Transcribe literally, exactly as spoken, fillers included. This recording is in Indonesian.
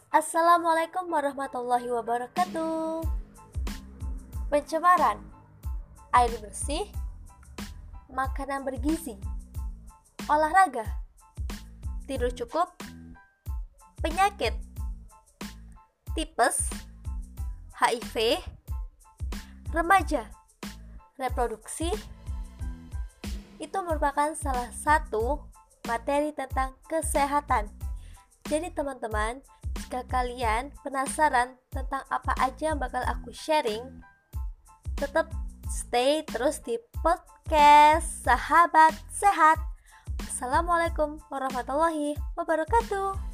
Assalamualaikum warahmatullahi wabarakatuh. Pencemaran air bersih, makanan bergizi, olahraga, tidur cukup, penyakit, tipes, H I V, remaja, reproduksi, itu merupakan salah satu materi tentang kesehatan. Jadi teman-teman, jika kalian penasaran tentang apa aja yang bakal aku sharing, tetap stay terus di podcast Sahabat Sehat. Assalamualaikum warahmatullahi wabarakatuh.